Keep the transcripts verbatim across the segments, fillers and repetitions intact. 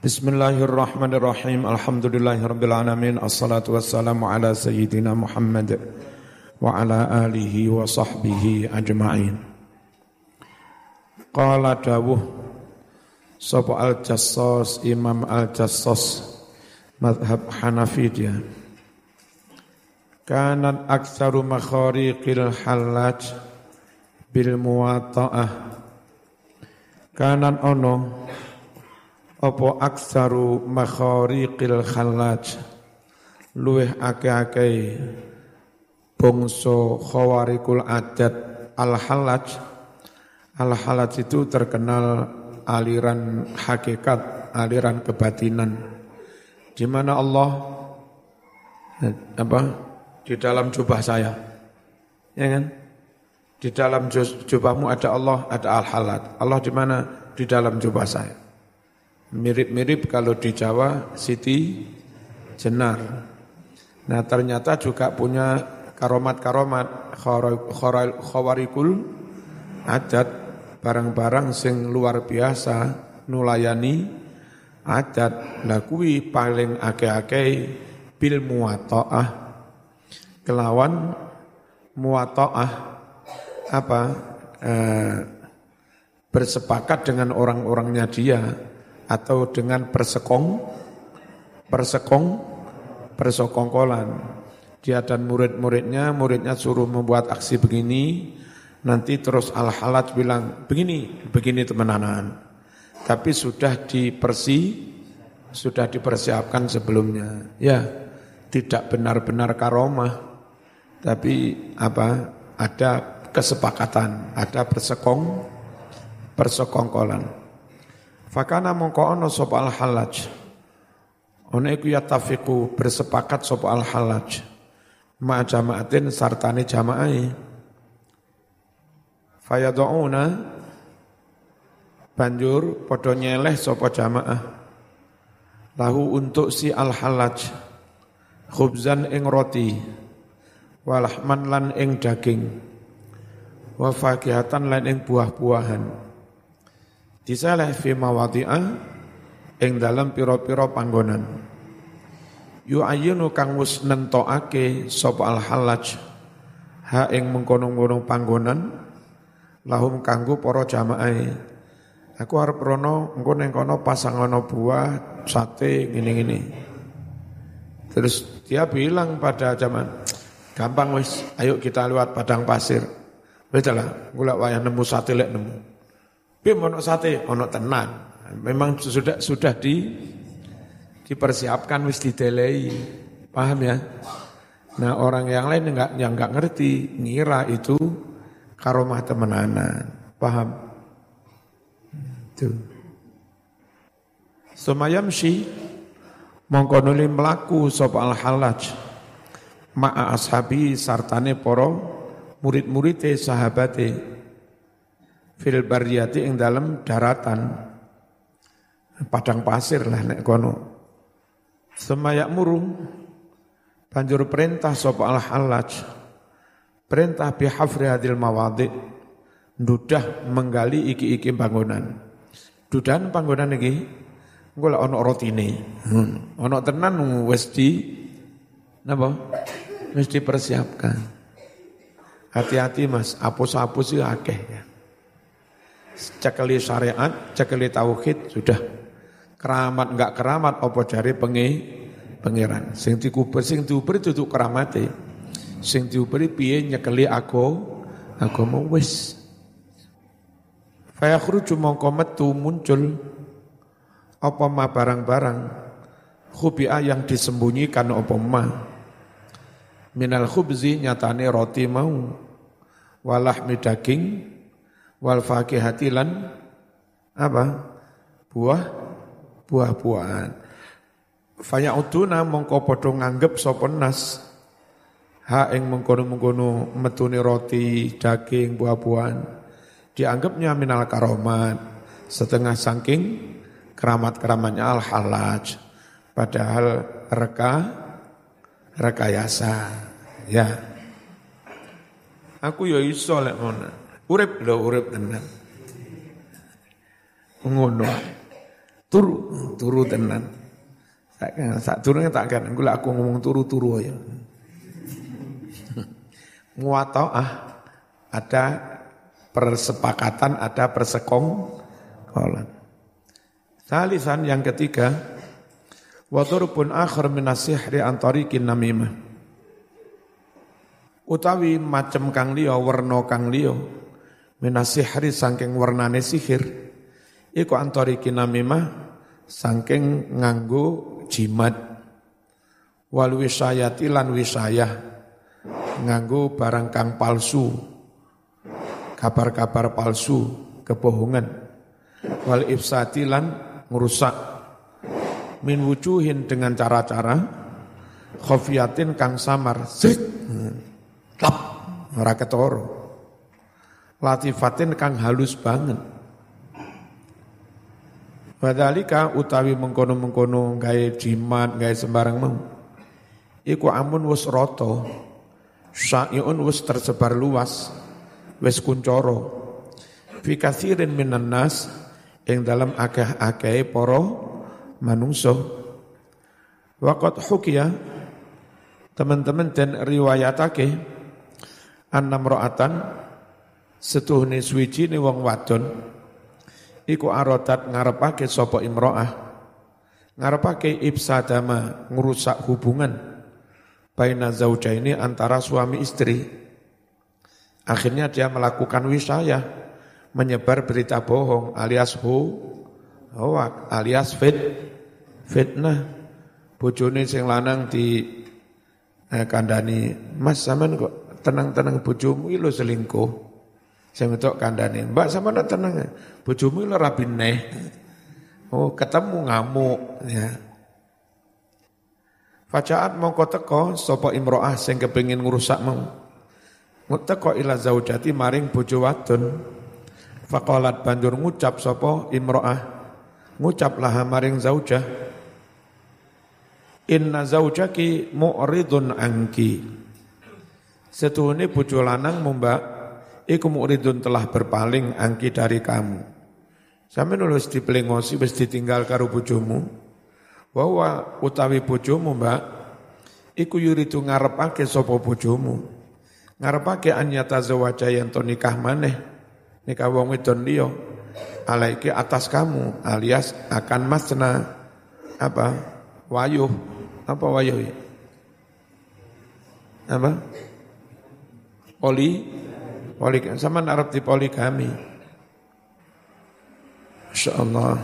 Bismillahirrahmanirrahim. Alhamdulillahirabbil alamin. Assalatu wassalamu ala sayyidina Muhammad wa ala alihi wa sahbihi ajma'in. Qala dawuh sapa Al-Jassas, Imam Al-Jassas mazhab Hanafi dia. Kanat aktsaru makhariqil halaj bil muwatta'ah. Kanan ono apa aksaru makhariqil khalaj luweh ake-ake bangsa khawarikul adat al-halaj. Al-halaj itu terkenal aliran hakikat, aliran kebatinan, di mana Allah apa di dalam jubah saya, ya kan? Di dalam jubahmu ada Allah, ada al-halaj. Allah di mana? Di dalam jubah saya. Mirip-mirip kalau di Jawa Siti Jenar. Nah ternyata juga punya karomat-karomat khawarikul adat, barang-barang sing luar biasa nulayani adat. Lah kuwi paling akeh-akeh bil muwatta'ah, kelawan muwatta'ah apa eh, bersepakat dengan orang-orangnya dia, atau dengan persekong, persekong, persekongkolan. Dia dan murid-muridnya, muridnya suruh membuat aksi begini, nanti terus al-halaj bilang, begini, begini teman-teman. Tapi sudah dipersi, sudah dipersiapkan sebelumnya. Ya, tidak benar-benar karomah, tapi apa? Ada kesepakatan, ada persekong, persekongkolan. Fakana mongko ono sapa al-halaj. Ono iku yatafiqu bersepakat sapa al-halaj ma jama'atin sartane jamaah. Fayad'una banjur padha nyeleh sapa jamaah lahu untuk si al-halaj khubzan ing roti walahman lan ing daging wa fakihatan lan ing buah-buahan. Disalah fi mawadhi'ah ing dalam pira-pira panggonan. Yu ayyunu kang wis nentokake sapa al-halaj ha ing mengkono-kono panggonan lahum kanggo para jamaah. Aku arep rono engko ning kono pasang ana buah, sate ngene-ngene. Terus dia bilang pada jamaah, gampang wis, ayo kita lewat padang pasir. Wis lah, golek wayah nemu sate lek nemu. Piye ono sate, ono tenan. Memang sudah sudah di dipersiapkan, wis didelei. Paham ya? Nah, orang yang lain enggak yang enggak ngerti, ngira itu karomah temenanan. Paham? Itu. Sumayamshi mongko nuli mlaku sapa al-halaj ma'a ashabi sartane para murid-muride sahabate fil bariyati ing dalam daratan padang pasir lah nek kono. Semayak muru banjur perintah sapa al-halaj, perintah bihafri hadil mawadhi, ndudah menggali iki-iki bangunan. Dudahan panggonan iki engko lek ana rotine. Hmm. Ana tenan wis di napa? Wis dipersiapkan. Hati-hati Mas, apus-apus iki akeh ya. Cekeli syariat, cekeli tauhid, sudah keramat enggak keramat apa jare pengi pangeran. Sing dikubur sing diuber itu keramate. Sing diuberi piye nyekeli aku agama wis. Fa yakhruju mongko metu muncul apa ma barang-barang khubia yang disembunyikan apa ma minal khubzi nyatane roti mau walahmi daging wal fakihati lan apa buah buah-buahan. Faya'uduna mongko padha nganggep sapa nas ha ing mengkono-mengkono metune roti, daging, buah-buahan dianggapnya minal karomat, setengah saking keramat-keramatnya al-halaj, padahal reka rekayasa ya. Aku ya iso lek ngono. Urip lho, urip tenan. Ngono. turu, turu tenan. Sak turune tak kan, engko aku ngomong turu-turu ya. Muwata'ah ada persepakatan, ada persekongkolan. Salisan yang ketiga, wa turpun akhir minas sihri an tariqin namimah. Utawi macem kang liya, werna kang liya minas sihri saking wernane sihir, iku an tariqin namimah saking nganggo jimat, wal wisayati lan wisayah nganggo barang kang palsu, kabar-kabar palsu, kebohongan, wal ifsati lan ngerusak, min wujuhin dengan cara-cara, khofiyatin kang samar, zrit, klap, ora ketara, latifatin kang halus banget. Wadhalika utawi mengkono-mengkono gawe jimat, gawe sembarang mau. Iku amun wis rata, syai'un wis tersebar luas, wis kuncoro. Fi katsirin minan nas ing dalam akeh-akehe para manungsa. Waqat hukiya teman-teman dan riwayatake annam ra'atan setuhne suwijine wong wadon iku arodat ngarepake sapa imro'ah, ngarepake ibsadama, ngerusak hubungan baina zaujaini antara suami istri. Akhirnya dia melakukan wisayah, menyebar berita bohong alias hu, hoak alias fit, fitnah. Bojone sing lanang di eh, kandani, "Mas sampean kok tenang-tenang bojomu iki lho selingkuh." Saya minta kandane, "Mbak sama nak tenang, bojomu lho rabi neh." Oh, ketemu ngamuk ya. Fajaat mongko teko sapa imro'ah sing kepengin ngrusak mau. Teko ila zaujati maring bojo wadon. Faqalat banjur ngucap sapa imro'ah, ngucap laha maring zaujah, "Inna zaujaki mu'ridun anki." Setuhune bojo lanang Mbak iku mu'ridun telah berpaling angki dari kamu. Sampe nulis dipelengosi wis ditinggal karo bojomu. Wa utawi bojomu Mbak iku yuridu ngarepake sapa bojomu. Ngarepake anyata zawaja yen to nikah maneh. Nikah wong wedon liya alaiki atas kamu alias akan masna apa? Wayuh. Apa wayuh? Apa? Poli Poligami, sama Arab di poligami. Insyaallah.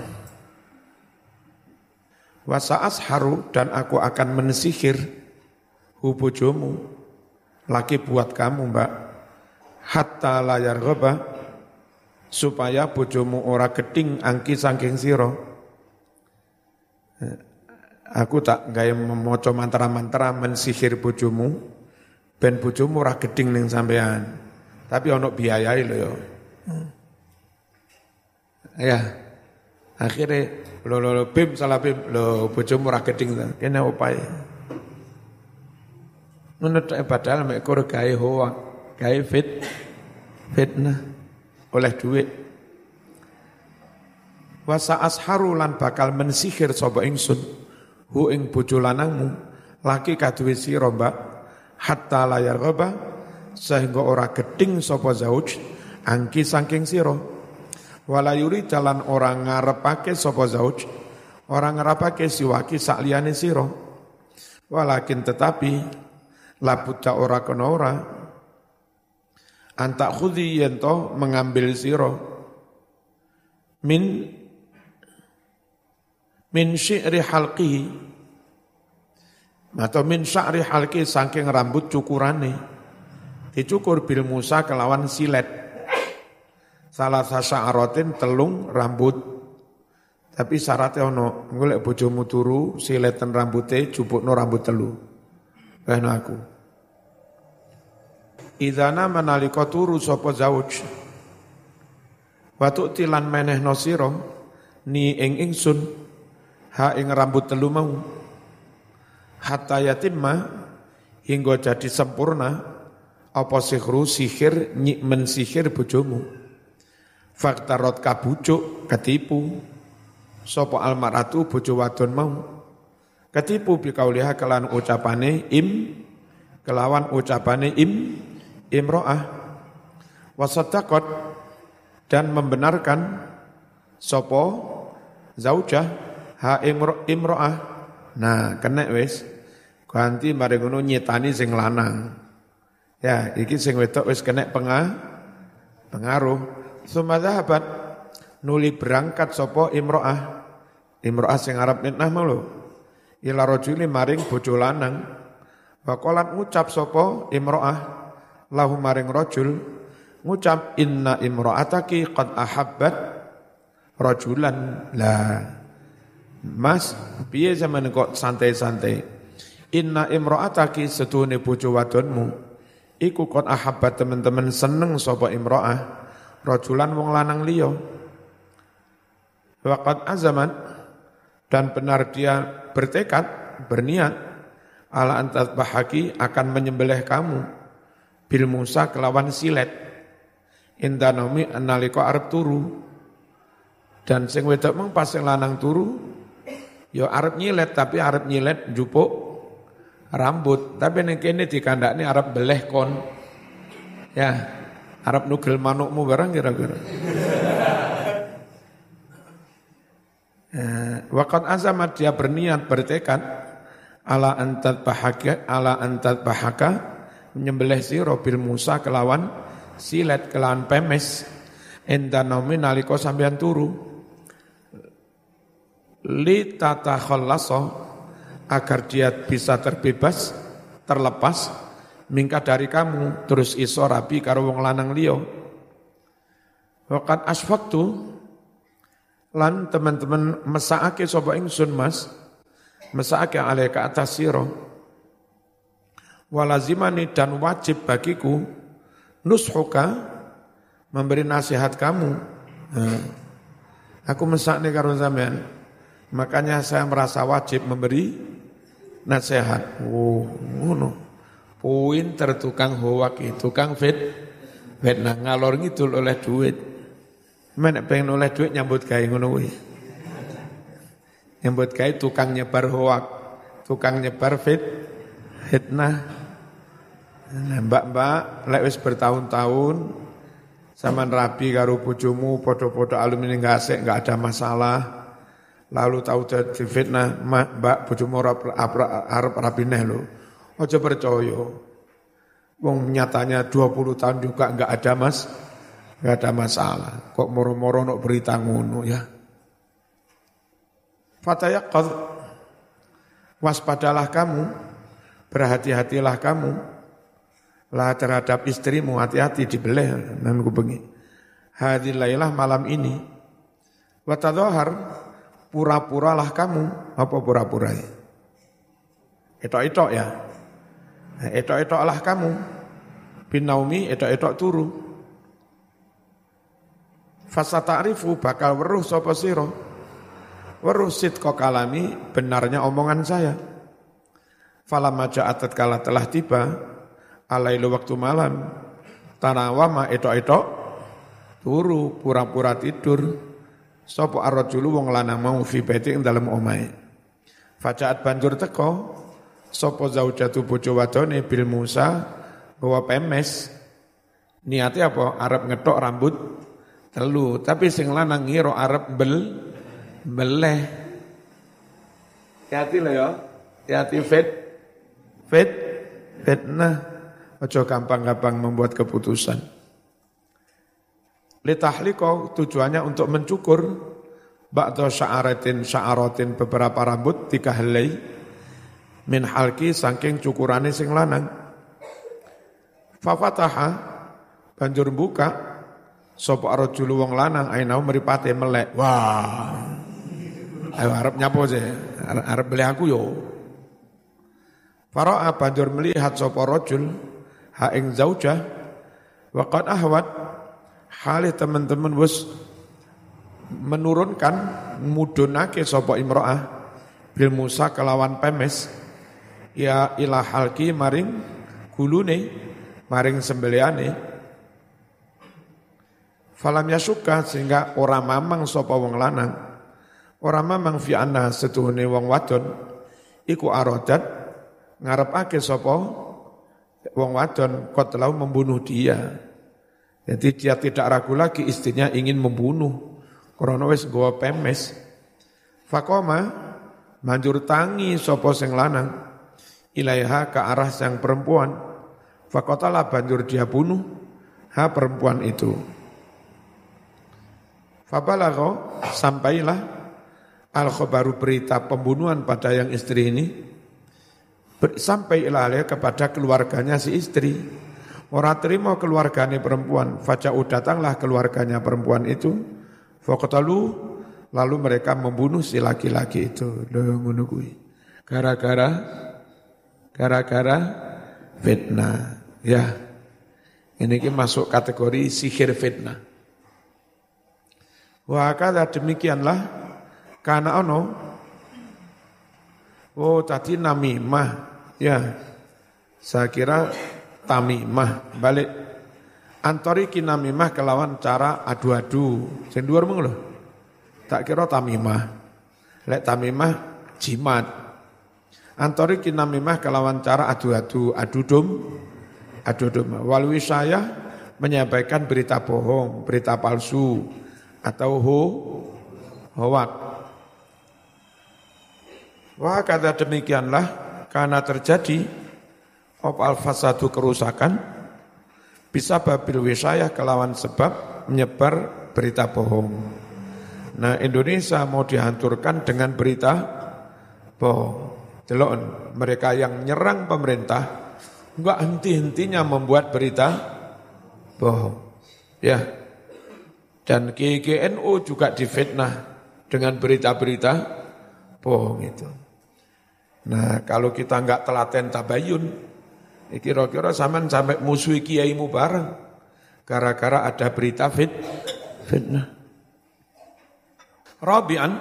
Wasa asharu dan aku akan mensihir hu bojomu, laki buat kamu Mbak, hatta layar ghaba, supaya bojomu ora geding angki saking sira. Aku tak gawe maca mantra-mantra mensihir bojomu, ben bojomu ora geding ning sampean. Tapi ono biayai lho ya. Ya. Akhirnya lo lo lo bim salah bim lo bojomu ora geding ta. Kene opae. Menurut padahal mek kur gawe hoa, gawe fit fitnah oleh duit. Wasa asharu lan bakal mensihir sapa ingsun hu ing bojo lanangmu laki kaduwe sira Mbak hatta layar ghaba sehingga ora geding sapa zauj angki saking sira. Wala yuri jalan orang ngarepake sapa zauj, orang ngarepake siwaki sak liyane sira. Walakin tetapi labuta ora kena ora antak khudhi yento mengambil sira min min syi'ri halqihi atau min sya'ri halqi saking rambut cukurane. Dicukur bil musa kelawan silet. Salah sa'aratin telung rambut. Tapi syaratnya ono, golek bojomu turu siletan rambute jupukno rambut telu. Kena aku. Idzana manalika turu sapa zauj. Watu tilan menehno sira ni ing ingsun ha ing rambut telu mau. Hatta yatimma hingga jadi sempurna apa sihru sihir nyik mensihir bojomu. Faktarot kabucuk ketipu sapa almaratu bojo wadon mau ketipu bikauliha kelan ucapane im kelawan ucapane im imro'ah wasaddaqat dan membenarkan sapa zaujah ha imro, imro'ah nah kena wis ganti mari ngono nyetani sing lanang ya iki sing wedok wis kena pengah, pengaruh sumadzahabat nuli berangkat sapa imro'ah imro'ah sing arep nitnah mau lho ila rajuli maring bojo lanang waqalat ngucap sapa imro'ah lahu maring rajul ngucap inna imro'ataki qad ahabbat rajulan lah mas piye zaman kok santai-santai inna imro'ataki setune bojo wadonmu iku qad ahabbat teman-teman seneng sapa imro'ah rajulan wong lanang liya wa qad azamat dan benar dia bertekad berniat ala antat bahaki akan menyembelih kamu bil Musa kelawan silet indanomi analika arep turu dan sing wedok mung pas sing lanang turu ya arep nyilet tapi arep nyilet njupuk rambut tapi ning kene dikandakne arep beleh kon ya arep nugel manukmu barang kira-kira waqad azamat dia berniat bertekad ala antat bahaka ala antat bahaka menyembelih sira bil Musa kelawan silet kelawan pemes endanomi nalika sampean turu li tatakhallasa agar dia bisa terbebas terlepas mingkat dari kamu terus iso rabi karo wong lanang liya waqad asfaqtu lan teman-teman mesakake sapa ingsun mas mesakake alaika atas sira walazimani dan wajib bagiku nushuka memberi nasihat kamu nah, aku mesakne karo sampean makanya saya merasa wajib memberi nasihat oh ngono pinter tukang hoak tukang fit fitnah ngalor ngidul oleh duit men pengen oleh duit nyambut gawe ngono kuwi nyambut gawe tukang nyebar hoak tukang nyebar fit fitnah nah, mbak-mbak lek wis bertahun-tahun sampean rabi karo bojomu padha-padha alumni gasek enggak ada masalah lalu tahu jadi fitnah mbak bojomu arep rabi neh lho aja percaya wong nyatanya dua puluh tahun juga enggak ada mas enggak ada masalah kok moro-moro nok berita ngono ya fatayaqad waspadalah kamu berhati-hatilah kamu lah terhadap istrimu hati-hati dibeleh nan kubengi hadil lailah malam ini wa tadhahar pura-puralah kamu apa pura-pura etok-etok ya etok-etoklah kamu binaumi etok-etok turu fasata'rifu bakal weruh sapa sira weruh sidqa kalami benarnya omongan saya falamma ja'at kala telah tiba alailu waktu malam tanawama etok-etok turu pura-pura tidur sapa ar-rajulu wong lanang mau fi baiti ing dalem omahe fajaat banjur teko sapa zaujatu bojo wadone bil Musa bawa pemes niate apa arep ngetok rambut telu tapi sing lanang ngira arep bel beleh hati lho ya hati fit fit fitnah ojo gampang-gampang membuat keputusan. Litahliqo tujuannya untuk mencukur ba'da sya'aratin sya'aratin beberapa rambut tiga helai min halki saking cukurane sing lanang. Fafataha banjur buka sapa rajul wong lanang ainau mripate melek. Wah. Ayo arep nyapo sih? Arep beli aku yo. Fara'a banjur melihat sapa rajul ha ing zaujah waqad ahwat hale teman-teman wis menurunkan mudunake sapa imro'ah bil Musa kelawan pemes ya ila halki maring gulune maring sembeliane falam yasuka sehingga ora mamang sapa wong lanang Ora mamang fi anna setuhune wong wadon iku arodat ngarepake sapa wong wadon qatlau membunuh dia. Jadi dia tidak ragu lagi istrinya ingin membunuh. Karena wis nggawa pemes. Faqoma manjur tangi sapa sing lanang ilaiha ke arah sang perempuan. Faqatala banjur dia bunuh ha perempuan itu. Fabalagha sampailah al-khabaru berita pembunuhan pada yang istri ini sampai ilahnya kepada keluarganya si istri. Orang terima keluarganya perempuan, faja'u datanglah keluarganya perempuan itu, faqatalu lalu mereka membunuh si laki-laki itu. Lho ngono kuwi. Gara-gara gara-gara fitnah. Ya. Ini ki masuk kategori sihir fitnah. Wa kada demikianlah kana ono oh tadi namimah ya saya kira tamimah balik antori kinamimah kelawan cara adu-adu sing dhuwur mung lho tak kira tamimah lek tamimah jimat antori kinamimah kelawan cara adu-adu adu dom adu dom wal wisayah menyampaikan berita bohong berita palsu atau ho hoak. Wah kata demikianlah karena terjadi opal fasadu kerusakan bisa babil wisayah kelawan sebab menyebar berita bohong. Nah Indonesia mau dihancurkan dengan berita bohong. Delon mereka yang nyerang pemerintah enggak henti-hentinya membuat berita bohong. Ya. Dan G G N U juga difitnah dengan berita-berita bohong itu. Nah kalau kita enggak telaten tabayun, kira-kira sampean sampai musuhi kiaimu bareng, gara-gara ada berita fit, fitnah. Rabi'an,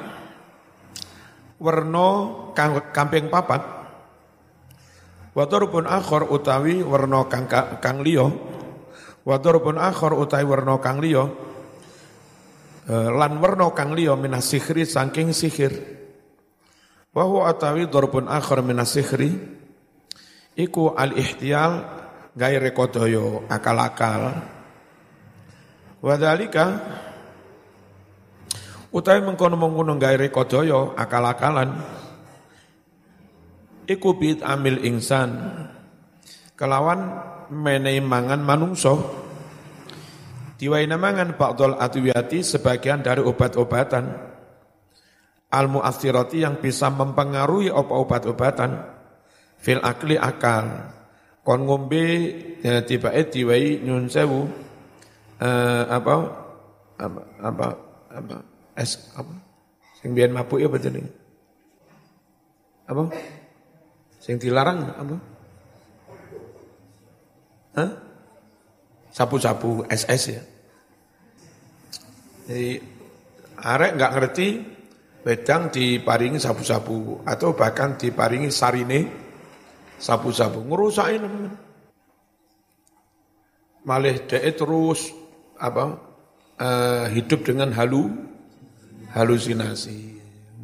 werno kamping papat, wadarubun akhor utawi werno kang, kang liyo, wadarubun akhor utawi werno kang liyo, lan werna kang liya minas sihri saking sihir wa huwa atawi darbun akhar minas sihri iku al ihtiyal gawe rekodaya akal-akal wa dzalika utawi mengkono-mengkono gawe rekodaya akal-akalan iku bid amil insan kelawan menehi mangan manungsa diwaina mangan ba'dul adwiyati sebagian dari obat-obatan al-mu'athirati yang bisa mempengaruhi obat-obatan fil akli akal kon ngombe ya, tiba-tiba diwai nyun sewu uh, apa apa apa apa es apa sing biyen mabuk ya apa jenenge apa sing dilarang apa Hah? Sapu-sapu S S ya. Jadi arek enggak ngerti wedang diparingi sapu-sapu atau bahkan diparingi sarine sapu-sapu ngerusakin teman. Malih dhek terus apa uh, hidup dengan halu halusinasi.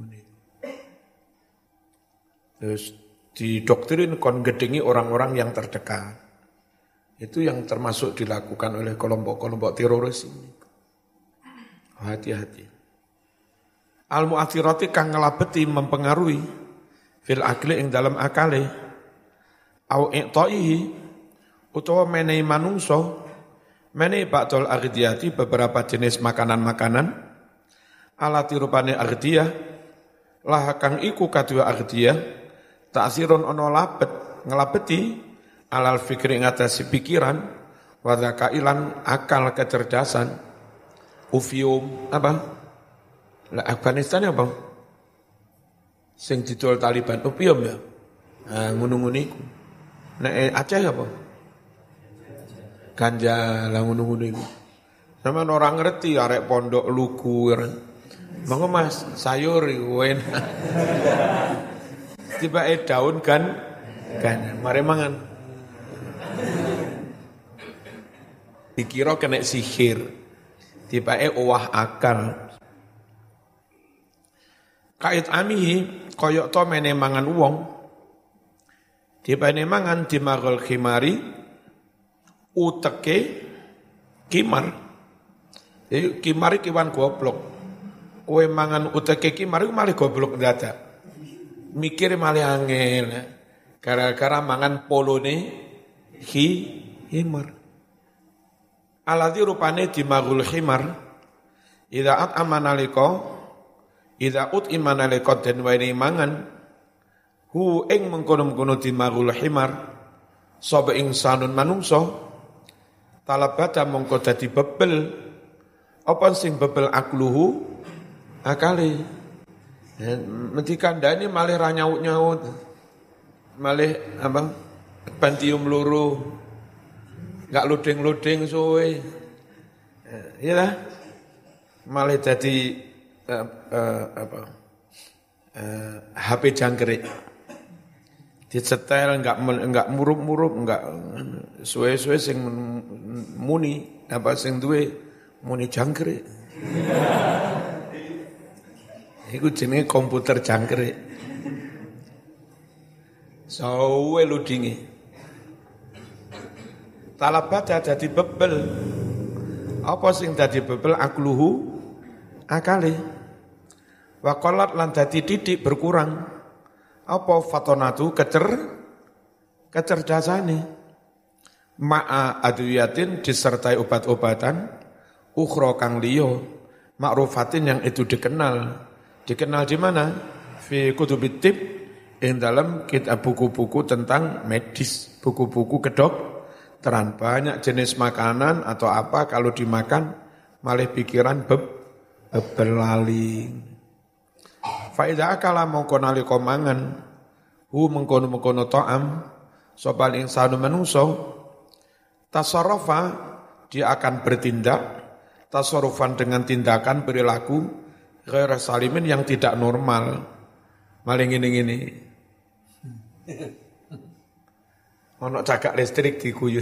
Terus didoktrin kon gedengi orang-orang yang terdekat. Itu yang termasuk dilakukan oleh kelompok-kelompok teroris ini. Hati-hati. Al-mu'athirati kang ngelabeti mempengaruhi fil akli ing dalam akale au i'ta'ihi utawa menehi manungso menehi ba'dul aghdiyati beberapa jenis makanan-makanan ala tirupane aghdiyah lah kang iku kadua aghdiyah ta'sirun ono labet ngelabeti alal fikri ngatasi pikiran wadaka ilan akal kecerdasan ufium apa lah Afghanistan apa sing didol Taliban opium ya nah, ngono-ngono iku nek Aceh apa ganja lah ngono-ngono iku sama orang ngerti arek pondok lugu monggo Mas sayur iku enak tiba eh daun kan kan mare mangan dikira kena sihir tiba-tiba owah akal Kait amihi koyok to mene mangan wong dipene mangan dimagol khimari uteke kimar. Jadi kimar kiwan goblok. Kowe mangan uteke kimar malah goblok dadak. Mikir malah angel. Gara-gara mangan polone hi himar. Aladzi rupane dimagul khimar idza at amanaliko idza ut imanaliko den wani mangan hu ing mengkono-mengkono dimagul khimar sapa insanun manungsa talabata mongko dadi bebel apa sing bebel akluhu akale mesti kandhane malih ra nyaut-nyaut malih apa bantium loro enggak luding-luding suwe ya lah malah jadi uh, uh, apa uh, H P jangkrik disetel enggak enggak murup-murup enggak suwe-suwe sing muni apa sing duwe muni jangkrik iku jenenge komputer jangkrik suwe ludinge talabata dadi bebel apa sing dadi bebel akluhu akale wa qalat lan dadi titik berkurang apa fatonatu kecer kecerdasane ma'a adwiyatin disertai obat-obatan ukhra kang liya ma'rufatin yang itu dikenal dikenal di mana fi kutubit tib ing dalam kitab buku-buku tentang medis buku-buku kedok teran banyak jenis makanan atau apa kalau dimakan malah pikiran beb bebelali. Fa idza akala mongko nalika mangan hu mengkono-mengkono ta'am sapa insanu manungsa tasarrufa dia akan bertindak tasarrufan dengan tindakan perilaku ghair salimin yang tidak normal. Maling ngene-ngene. Ono cagak listrik diguyu.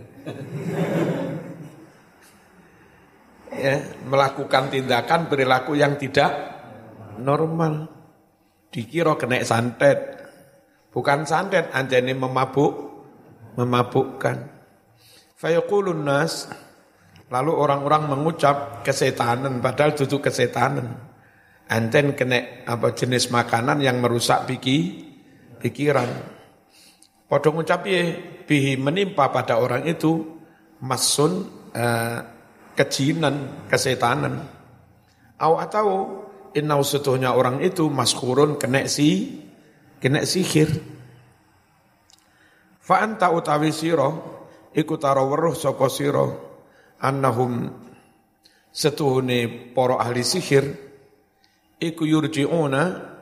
Ya, melakukan tindakan perilaku yang tidak normal. Dikira kena santet. Bukan santet, anjane memabuk, memabukkan. Fayaqulun nas, lalu orang-orang mengucap kesetanan padahal itu kesetanan. Anten kena apa jenis makanan yang merusak piki, pikiran. Padha ngucapi bihi menimpa pada orang itu masun uh, kejinan, kesetanan. Aw atau innau setuhnya orang itu maskhurun kena si kena sihir. Fa anta utawi sira iku tara weruh saka sira annahum setuhune para ahli sihir iku yurjiuna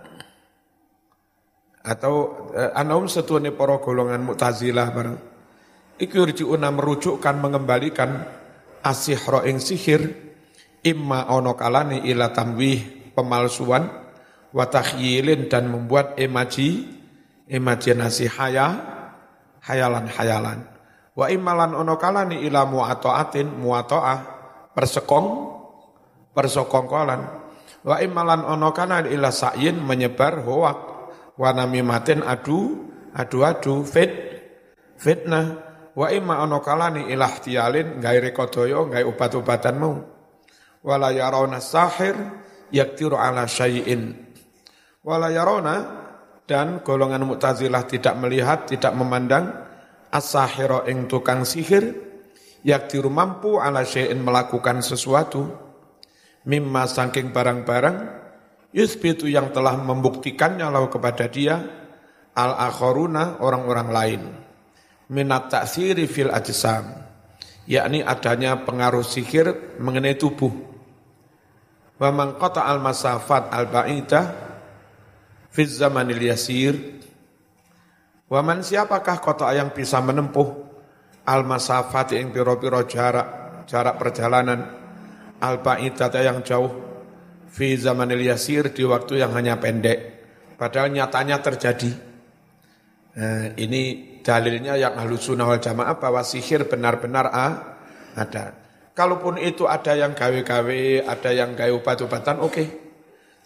atau eh, anaum setuane para golongan Mu'tazilah bareng iku yurjiuna merujukkan mengembalikan asihra ing sihir imma ana kalane ila tamwih pemalsuan wa takhyilin dan membuat imaji imajinasi haya hayalan-hayalan wa immalan ana kalane ila mu'ataatin mu'ataah persekong persekongkolan wa immalan ana kalane ila sa'yin menyebar hoak wa namimatin adu adu-adu fit fitnah wa imma ana kalane ilahtiyalin gawe rekodaya gawe obat-obatan mau wala yarawna sahir yaktiru ala syai'in wala yarawna dan golongan Mu'tazilah tidak melihat tidak memandang as-sahira ing tukang sihir yaktiru mampu ala syai'in melakukan sesuatu mimma saking barang-barang yusbitu yang telah membuktikannya lau kepada dia al-akharuna orang-orang lain minat ta'siri fil ajsam yakni adanya pengaruh sihir mengenai tubuh wa man qata al-masafat al-ba'idah fi zamanil yasir wa man siapakah kota yang bisa menempuh al-masafat yang piro-piro jarak jarak perjalanan al-ba'idah yang jauh fi zamanil yasir di waktu yang hanya pendek padahal nyatanya terjadi. Nah, ini dalilnya yang Ahlus Sunnah wal Jamaah bahwa sihir benar-benar ah, ada. Kalaupun itu ada yang gawe-gawe, ada yang gawe obat-obatan, oke. Okay.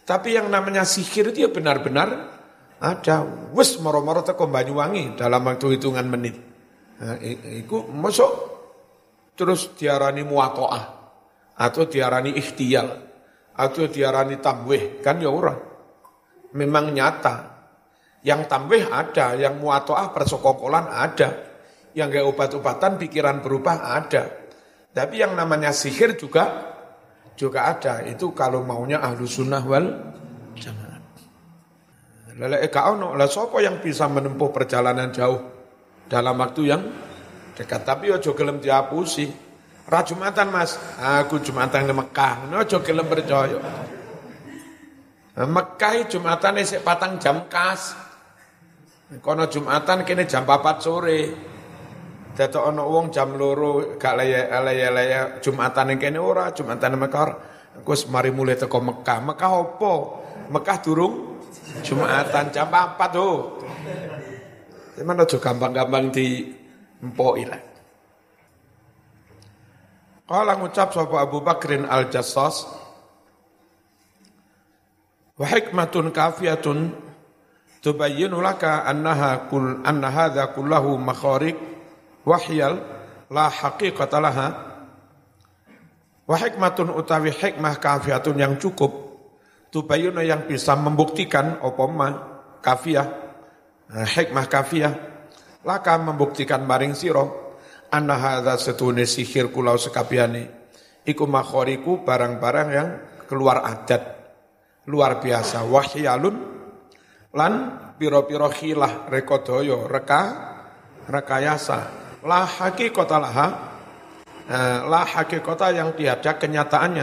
Tapi yang namanya sihir itu ya benar-benar ada. Wes moro-moro teko Banyuwangi dalam waktu hitungan menit. Nah, iku masuk terus diarani muwatoah atau diarani ikhtiyal atau diarani tamwih, kan ya ora. Memang nyata. Yang tamwih ada, yang muwatoah persekongkolan ada, yang kayak obat-obatan pikiran berubah ada. Tapi yang namanya sihir juga juga ada. Itu kalau maunya ahlu sunnah wal jamaah. Lele eka ono, lah sapa yang bisa menempuh perjalanan jauh dalam waktu yang dekat. Tapi ojo gelem dihapusi. Ra Jumatan Mas, aku Jumatan di Mekah. Ojo gelem percaya. Mekah Jumatan isih patang jam kas. Kono Jumatan kene jam papat sore. Dadak ana wong jam loro gak laya-laya Jumatan ning kene ora, Jumatan ning Mekah. Aku wis mari mulai teko Mekah. Mekah opo? Mekah durung Jumatan jam papat ho. Cuman aja gampang-gampang di empoki lah. Kala ngucap sapa Abu Bakrin Al-Jassas, wa hikmatun kafiyatun tubayyinu laka annaha kul anna hadza kullahu makharik wahyal la haqiqata laha. Wa hikmatun utawi hikmah kafiyatun yang cukup, tubayyinu yang bisa membuktikan apa ma kafiyah, hikmah kafiyah laka membuktikan maring sira anna hadza setune sihir kulau sekabiane iku makhariku barang-barang yang keluar adat luar biasa, wahyalun lan pira-pira khilah rekodaya reka rekayasa la haqiqata laha, eh, la haqiqata yang tiada kenyataannya.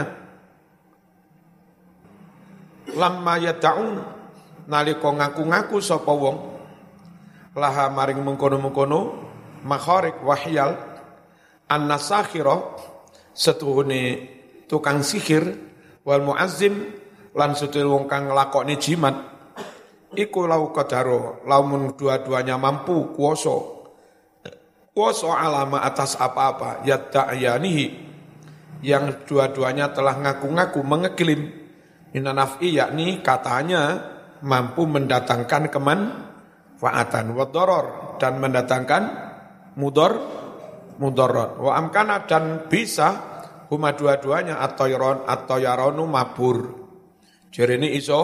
Lamma yata'un nalika ngaku-ngaku sapa wong laha maring mengkono-mengkono makharik wahyal an-nasakhira setuhune tukang sihir wal muazzim lan setuhune wong kang nglakoni jimat iku lau qadaro lamun dua-duanya mampu kuwasa kuwasa alama atas apa-apa yada'yanihi yang dua-duanya telah ngaku-ngaku mengeklaim minanaf'i yakni katanya mampu mendatangkan kemanfaatan wa darar dan mendatangkan mudor mudarat wa amkana dan bisa huma dua-duanya at-tayron at-tayronu mabur. Jarene iso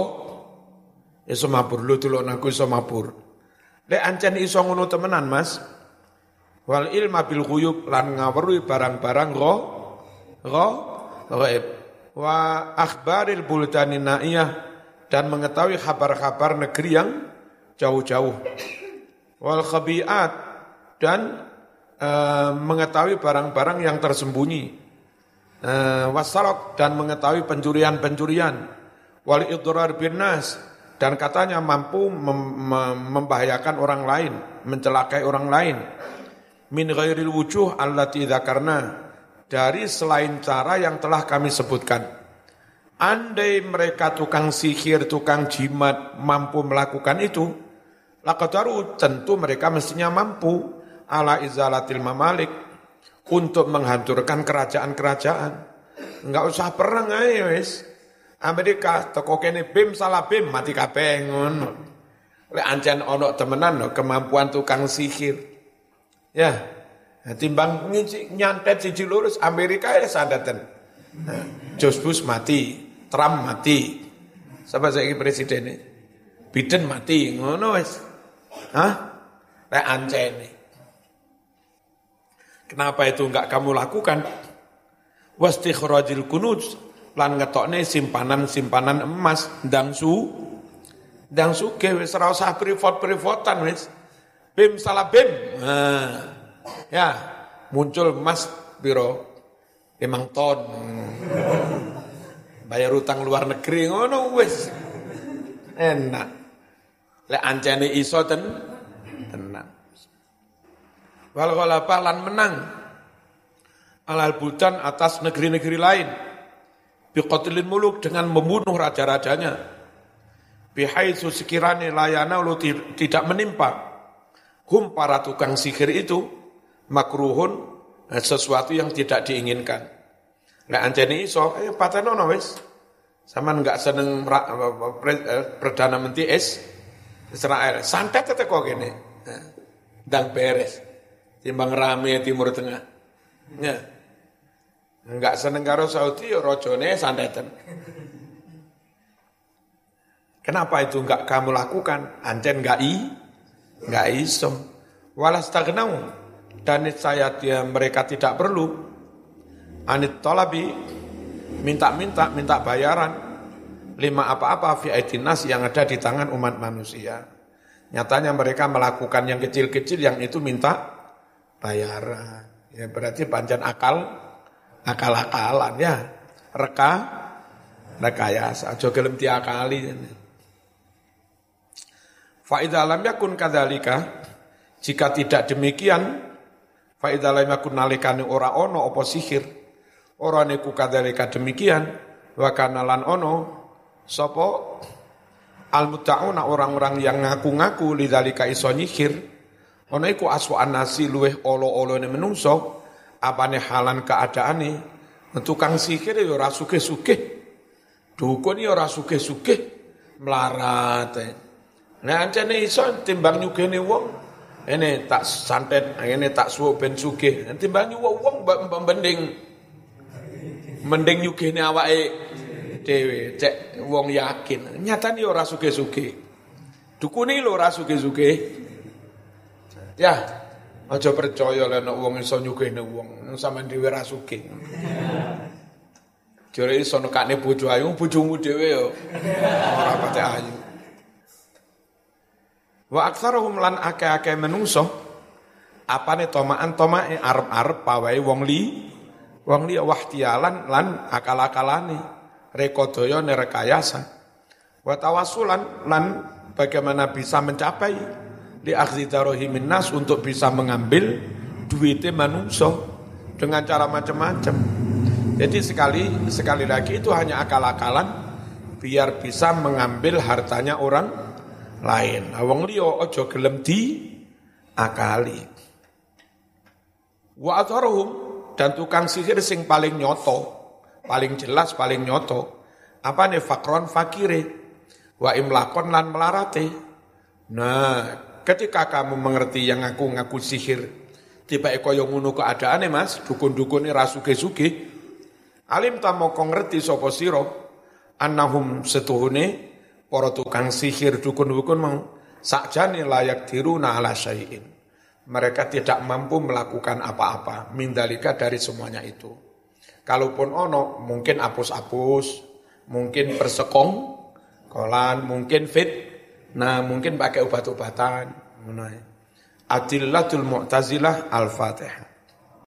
iso mabur lu tulun aku iso mabur. Lek ancen iso ngono temenan Mas. Wal ilma bil ghuyub lan ngawruhi barang-barang gho gho ghaib. Wa akhbaril buldanin naiyah dan mengetahui kabar-kabar negeri yang jauh-jauh. Wal khabiat dan e, mengetahui barang-barang yang tersembunyi. E, wasarok dan mengetahui pencurian-pencurian. Wal idrar bin nas dan katanya mampu mem, mem, membahayakan orang lain, mencelakai orang lain. Min ghairil wujuh allati dzakarna dari selain cara yang telah kami sebutkan. Andai mereka tukang sihir, tukang jimat mampu melakukan itu, laqadaru tentu mereka mestinya mampu ala izalatil mamalik untuk menghancurkan kerajaan-kerajaan. Enggak usah perang ae wis. Amerika teko kene bim salah bim mati kabeh ngono. Lek ancen ana temenan no, kemampuan tukang sihir. Ya, timbang nyantet siji lurus Amerika ya sandaten. George Bush mati, Trump mati. Sapa saiki presiden Biden mati ngono wis. Hah? Lek ancene kenapa itu enggak kamu lakukan? Wastikhrajil kunuz lan ngetokne simpanan-simpanan emas ndang su ndang suge wis ora usah privot-privotan wis. Bim salah bim. Nah, ya, muncul emas piro lima ton. Bayar utang luar negeri ngono wis. Enak. Lek ancene iso ten tenang. Wal ghalaba lan menang alal buldan atas negeri-negeri lain biqatlil muluk dengan membunuh raja-rajanya bihaitsu sekirane layana lu tidak menimpa hum para tukang sihir itu makruhun sesuatu yang tidak diinginkan. Lek ancene iso ayo patenono wis Sampeyan enggak seneng Perdana Menteri Israel, santet teko kene. Ndang beres. Timbang rame Timur Tengah. Ya. Enggak seneng karo Saudi ya rajane santeten. Kenapa itu enggak kamu lakukan? Ancen enggak i, enggak iso. Walastagnau, dan saya dia mereka tidak perlu anit talabi minta-minta minta bayaran lima apa-apa fi aidinas yang ada di tangan umat manusia. Nyatanya mereka melakukan yang kecil-kecil yang itu minta bayaran. Ya berarti pancen akal akal-akalan ya. Reka rekayasa aja gelem diakali. Fa idza lam yakun kadzalika, jika tidak demikian, fa idza lam yakun nalikane ora ono apa sihir, ora niku kadzalika demikian, wa kana lan ono sapa al-mutta'una orang-orang yang ngaku-ngaku lidzalika iso nyihir, ono iku aswa'an nasi luweh olo-olone menungso, apane halan keadaane, tukang sihir ya ora sugih-sugih, dukun ya ora sugih-sugih, melarat. Nah ancene iso timbang nyugihne wong, ini tak santet, ini tak suwuk ben sugih, timbang nyuwuk wong mending mending nyugihne awake dhewe, cek wong yakin. Nyatane ora sugih-sugih. Dukune lho ora sugih-sugih. Ya, aja percaya lek nek wong iso nyugihne wong, sampean dhewe ora sugih. Jare iso nekane bojo ayu, bojomu dhewe yo ora pate ayu. Wa aktsaruhum lan akeh-akeh menungso apane tomaan tomae arep-arep pawae wong li wong li wahtialan lan akal-akalane rekodaya nerekayasa wa tawassulan lan bagaimana bisa mencapai li akhzi darahimin nas untuk bisa mengambil duitnya manungso dengan cara macam-macam. Jadi sekali sekali lagi itu hanya akal-akalan biar bisa mengambil hartanya orang lain. Wong liya aja gelem di akali. Wa atharuhum, dan tukang sihir sing paling nyoto, paling jelas, paling nyoto, apane fakron fakire, wa imlakon lan melarate. Nah, ketika kamu mengerti yang aku ngaku sihir, tiba kaya ngono keadaane Mas, dukun-dukune ra sugih-sugih, alim ta moko ngerti sapa sira annahum setuhune para tukang sihir dukun-dukun mau sakjane layak diruna ala syai'in. Mereka tidak mampu melakukan apa-apa mindalika dari semuanya itu. Kalaupun ono mungkin apus-apus, mungkin persekong, kolan, mungkin fit, nah mungkin pakai obat-obatan. Adillatul Mu'tazilah Al-Fatihah.